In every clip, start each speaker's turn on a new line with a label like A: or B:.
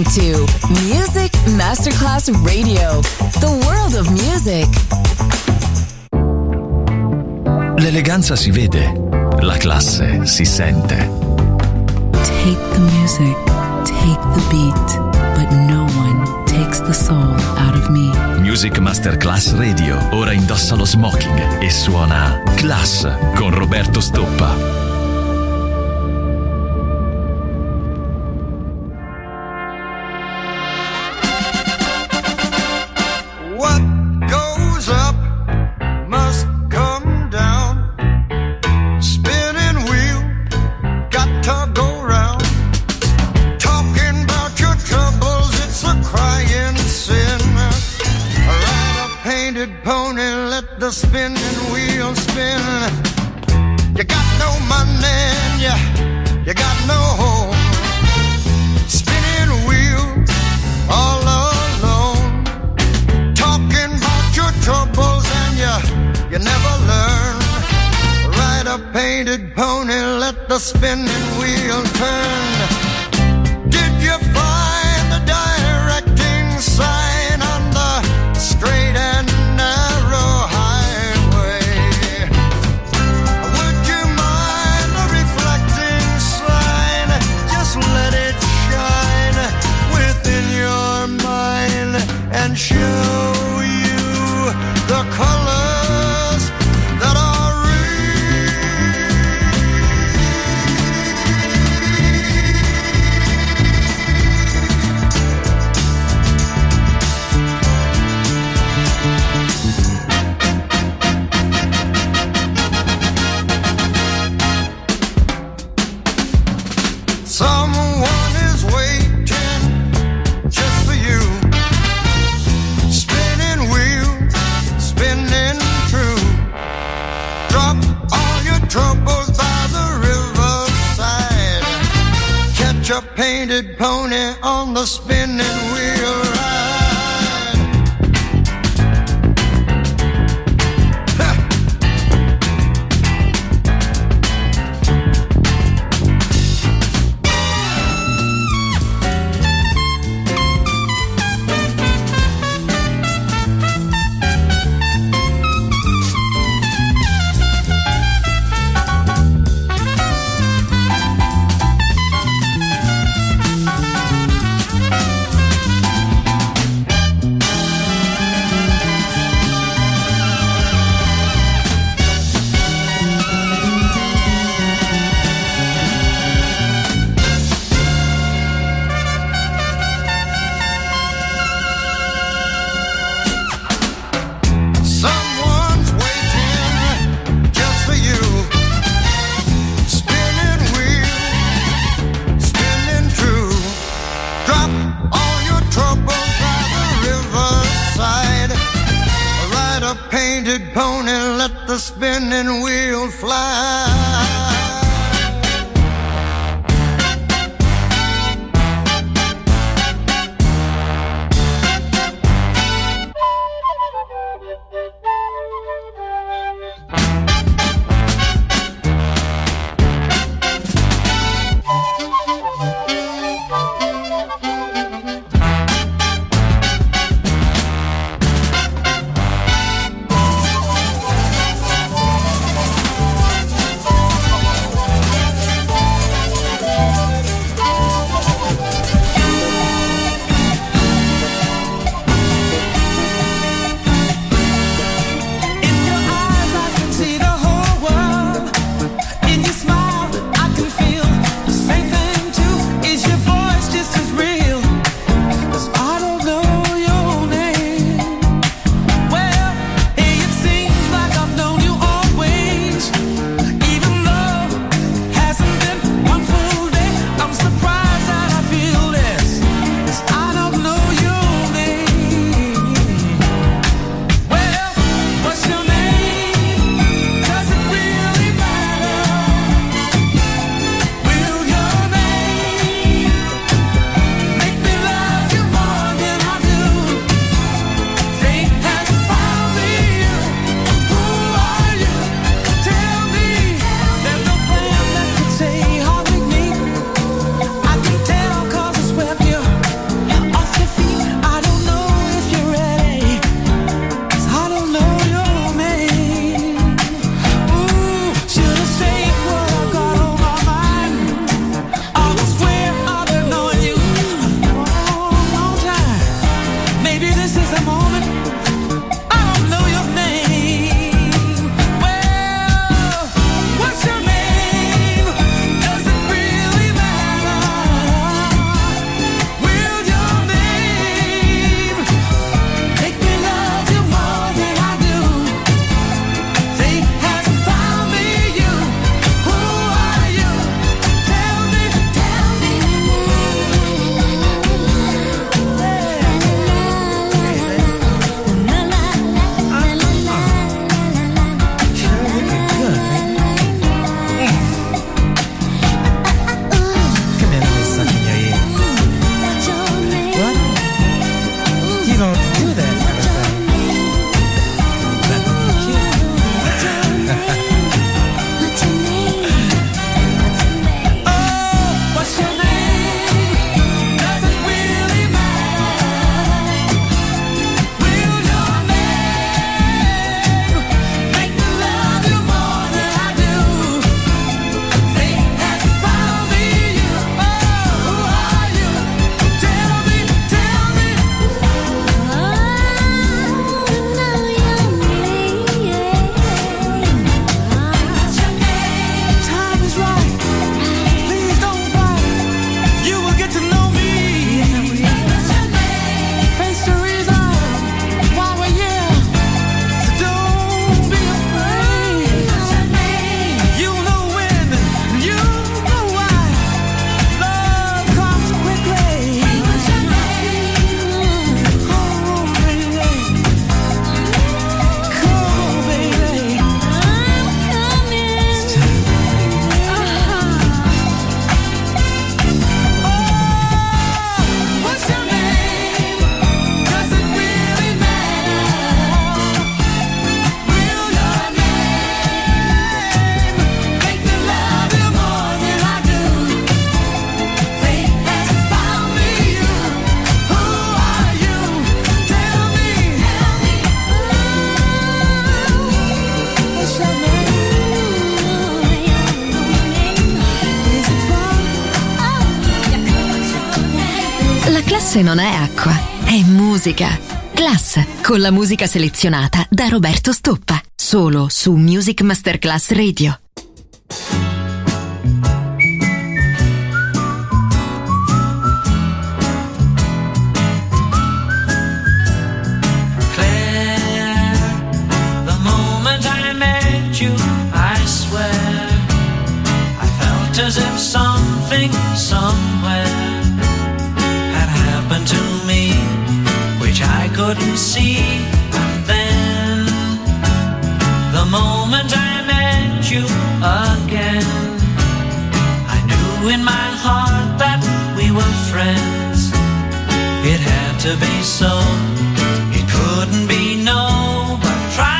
A: listening to Music Masterclass Radio, the world of music.
B: L'eleganza si vede, la classe si sente.
C: Take the music, take the beat, but no one takes the soul out of me.
B: Music Masterclass Radio ora indossa lo smoking e suona Class con Roberto Stoppa.
D: Spinning wheel spin. You got no money and you got no home. Spinning wheel all alone. Talking about your troubles and you never learn. Ride a painted pony, let the spinning wheel turn. Did you find the directing sign on the straight and narrow highway? Would you mind the reflecting sign? Just let it shine within your mind and show you the colors that are someone is waiting just for you. Spinning wheel, spinning true. Drop all your troubles by the riverside. Catch a painted pony on the spinning wheel ride. Someone's waiting just for you. Spinning wheel, spinning true. Drop all your troubles by the riverside. Ride a painted pony, let the spinning wheel fly.
A: Class non è acqua, è musica. Class, con la musica selezionata da Roberto Stoppa. Solo su Music Masterclass Radio.
E: As if something somewhere had happened to me, which I couldn't see. And then the moment I met you again, I knew in my heart that we were friends. It had to be so, it couldn't be no, but try.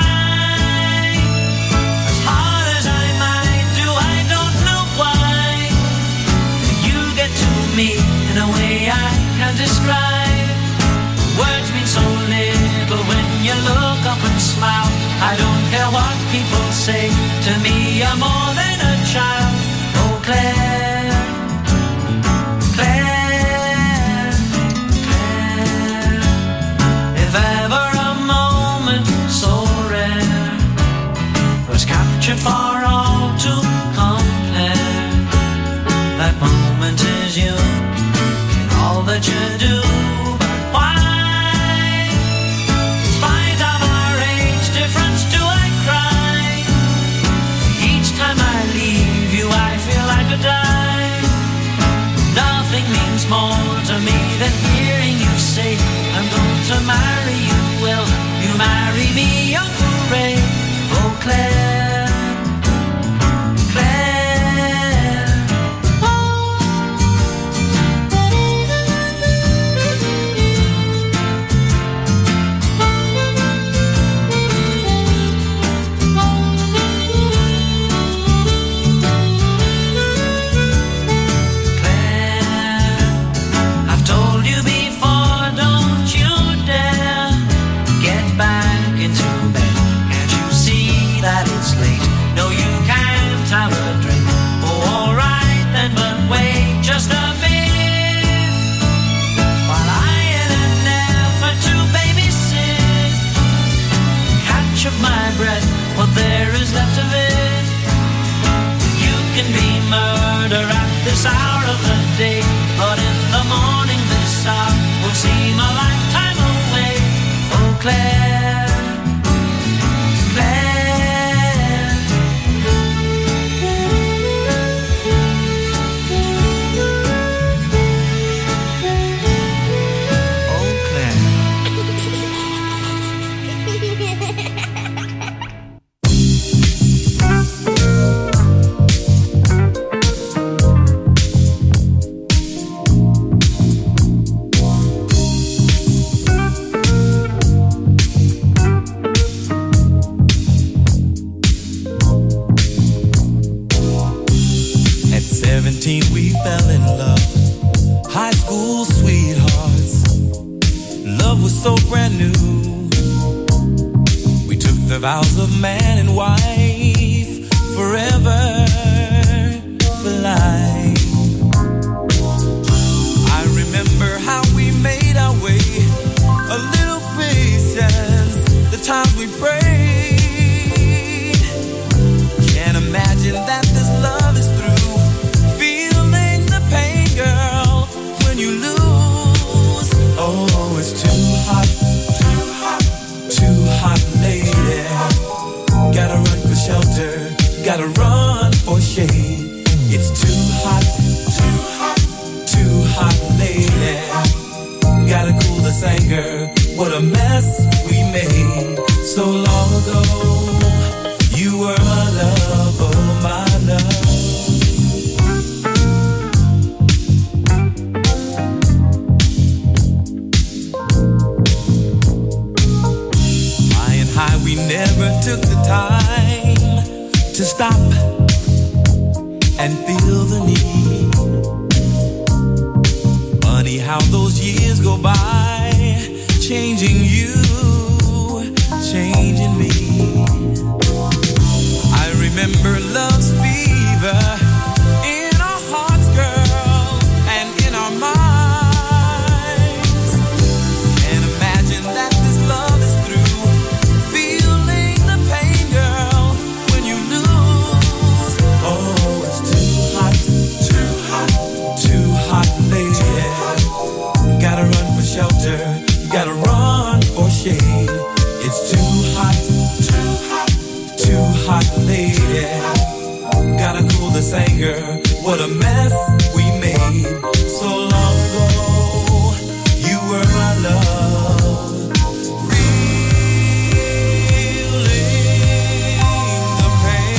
E: Me in a way I can't describe. Words mean so little when you look up and smile. I don't care what people say, to me you're more than a child. Oh Claire, Claire, Claire, if ever a moment so rare was captured for all to compare, that moment is you in all that you do. But why, in spite of our age difference, do I cry? Each time I leave you I feel I could die. Nothing means more to me than hearing you say I'm going to marry you. Will you marry me, Uncle Ray? Oh Claire, what there is left of it. You can be murder at this hour of the day, but in the morning this hour will seem a lifetime away. Oh Claire, Claire, oh Claire.
F: We fell in love, high school sweethearts. Love was so brand new. We took the vows of man and wife, forever, for life. I remember how we made our way, a little patience, the times we prayed. Can't imagine that this love is through. Girl, when you lose, oh, it's too hot, too hot, too hot, lady. Gotta run for shelter, gotta run for shade. It's too hot, too hot, too hot, lady. Gotta cool this anger, what a mess we made so long ago. You were my love, oh my love. We never took the time to stop and feel the need. Funny how those years go by, changing you, changing me. I remember love's fever in our hearts, girl, and in our minds. mess we made so long ago. You were my love, feeling the pain.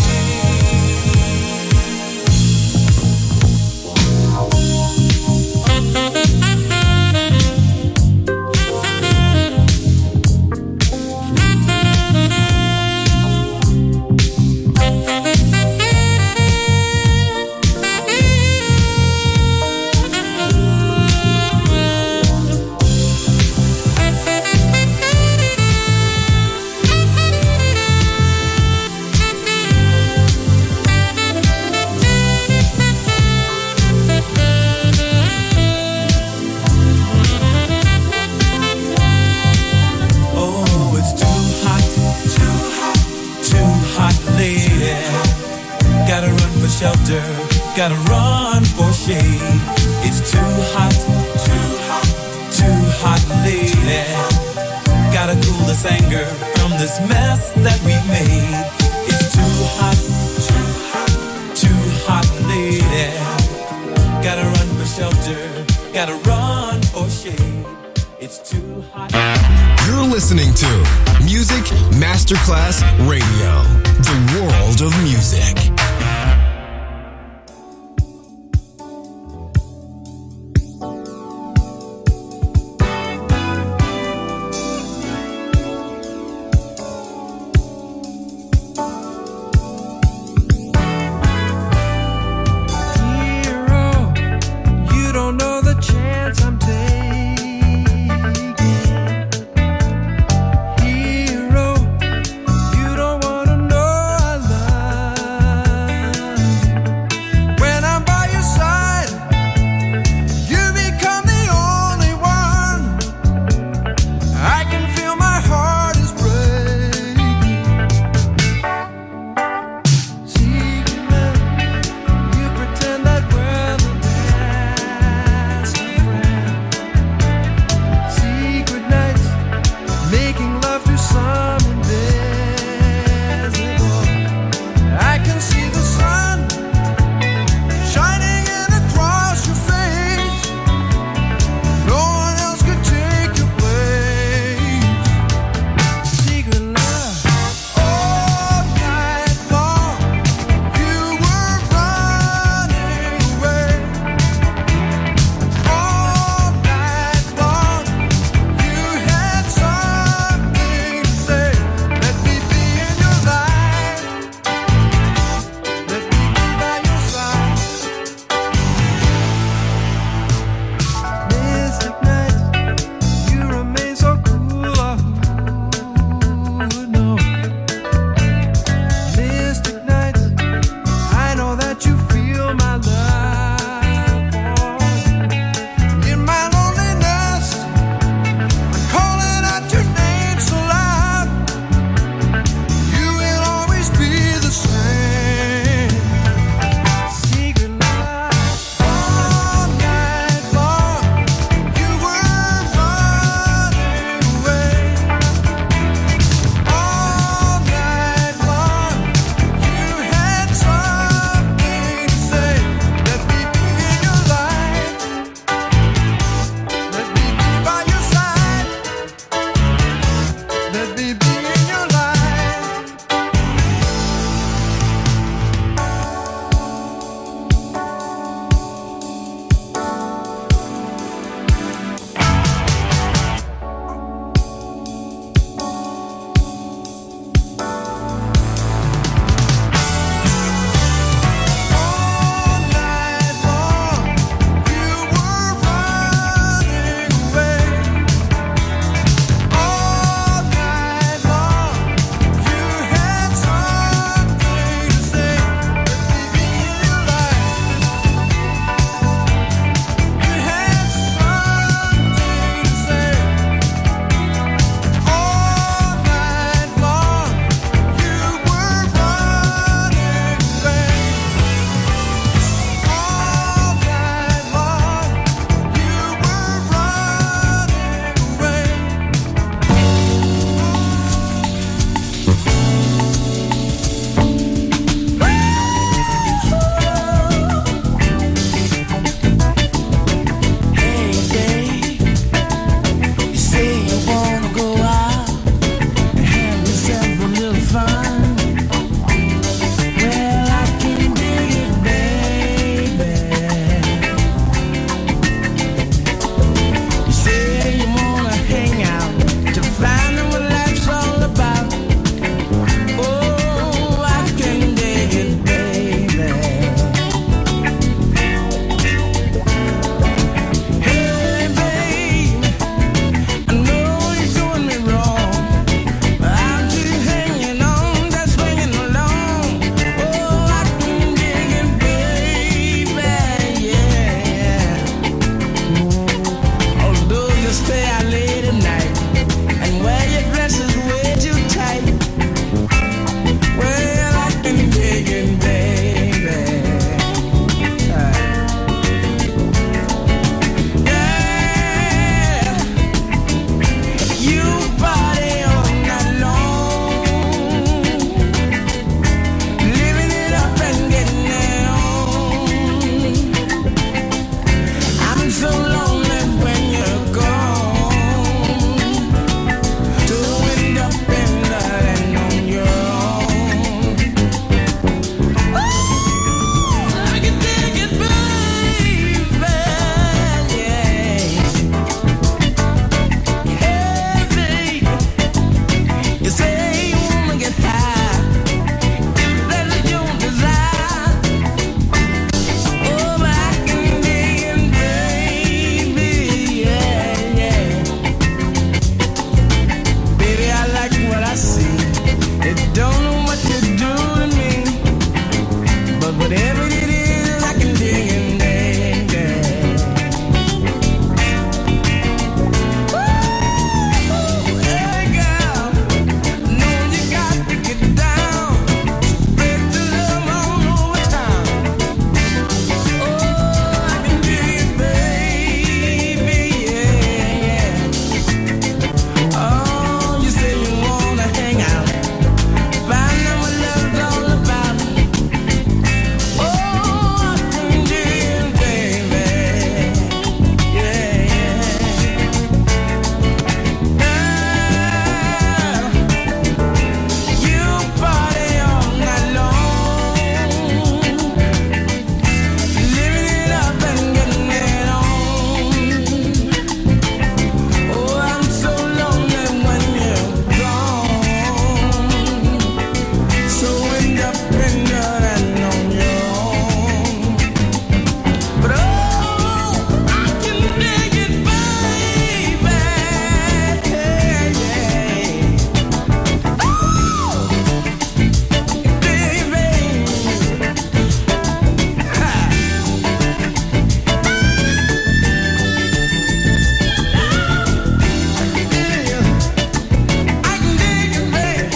F: Shelter, gotta run for shade. It's too hot, too hot, too hot, lady. Gotta cool this anger from this mess that we've made. It's too hot, too hot, lady. Gotta run for shelter, gotta run for shade. It's too hot.
G: You're listening to Music Masterclass Radio, the world of music.
F: Hero, you don't wanna know I love Although you stay out late at night and wear your dresses way too tight, well, I can dig it, baby. Yeah, you party all night long, living it up and getting it on. I'm so lonely when you're gone, to end up in London on your own. Oh, I can dig it, baby, yeah. Hey, baby, you say you wanna get high, if that's your desire. Oh, I can dig it, baby, yeah, yeah. Baby, I like what I see. It don't know what to do to me, but whatever it is, I can dig it, baby. Ooh, hey girl, know you got to get down, spread the love all over town. Oh, I can dig it, baby, yeah, yeah. Oh, you say you wanna hang out, find out what love's all about. Oh, I can dig it, baby, yeah, yeah. You party all night long, living it up and getting it on. Oh, I'm so lonely when you're gone, so independent on your own. But oh, I can dig it, baby, yeah. Oh, baby, ha. I can dig it, baby.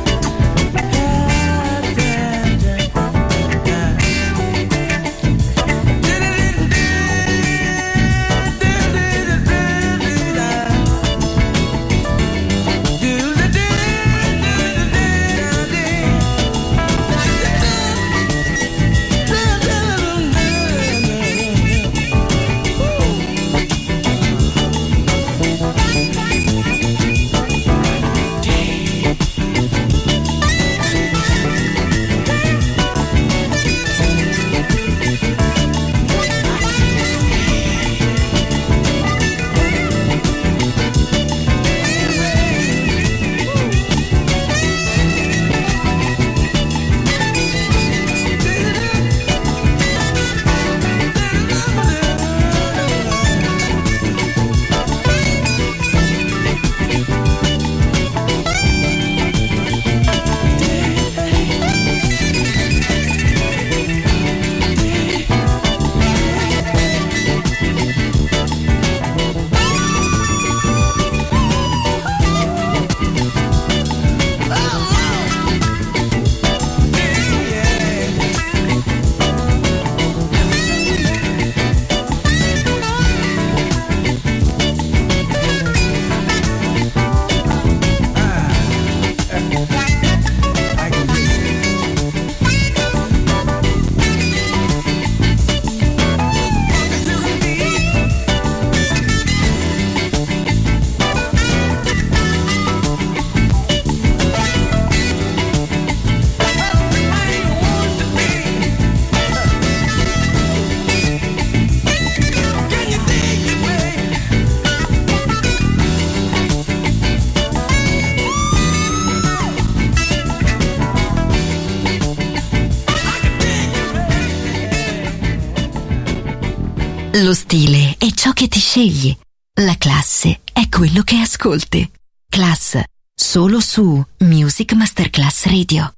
A: Lo stile è ciò che ti scegli. La classe è quello che ascolti. Class, solo su Music Masterclass Radio.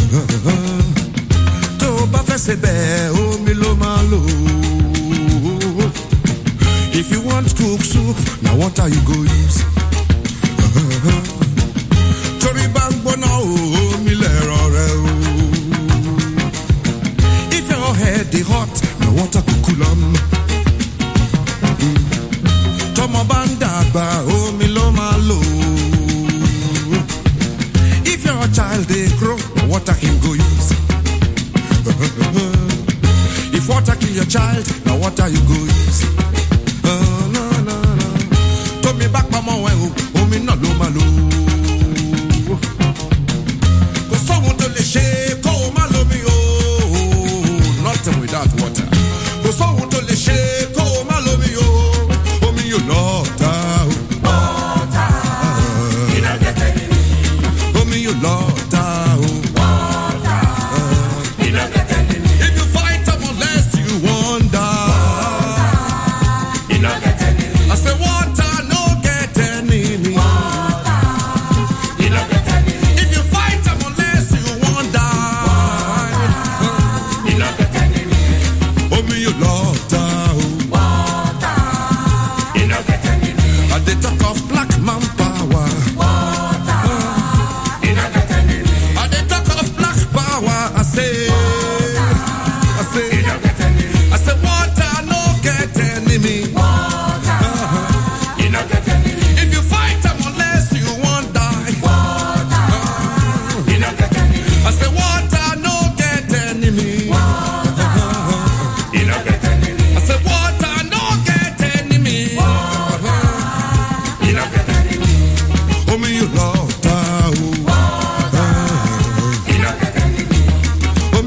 H: tó bá fẹ́ ṣe bẹ́ẹ̀ omi ló máa lò. If you want cook soup, na water you go use. Torí bá ń gbóná omi lẹ̀rọ rẹ o. If your head dey hot, na water go cool am. Tọ́mọ bá ń dàgbà omi ló máa lò. If your child dey grow, na water him go use. If water kill your child, na water you go use. Tómi bá pamọ́ ẹ̀ o, omi náà ló máa lò. Kò sóhun tó lè ṣe kó o má lómi o. Nothing without water. Kò sóhun tó lè ṣe kó o má lómi o. Omi yóò lọ́ọ̀ta o. Water, iná gẹ́gẹ́ ni. Omi yóò lọ́ọ̀ta o. Water, iná gẹ́gẹ́ ni. If you fight them unless you wonder. Water, iná gẹ́gẹ́ ni. I say water no get enemy. Water, iná gẹ́gẹ́ ni. If you fight them unless you wonder. Water, iná gẹ́gẹ́ ni. Omi yóò lọ́ọ̀ta o. Water, iná gẹ́gẹ́ ni. I dey talk of black man power. Water, iná gẹ́gẹ́ ni. I dey talk of black power. I say, iná gẹ́gẹ́ ni. I say water no get enemy. Water, iná gẹ́gẹ́ ni. If you fight them unless you won't die. Water, iná gẹ́gẹ́ ni. I say water no get enemy. Water, iná gẹ́gẹ́ ni. I say water no get enemy. Water, iná gẹ́gẹ́ ni. Omi yóò lọ́ọ̀ta o. Water, iná gẹ́gẹ́ ni. Omi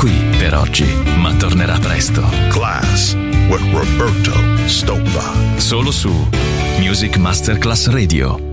B: qui per oggi, ma tornerà presto.
I: Class with Roberto Stoppa.
B: Solo su Music Masterclass Radio.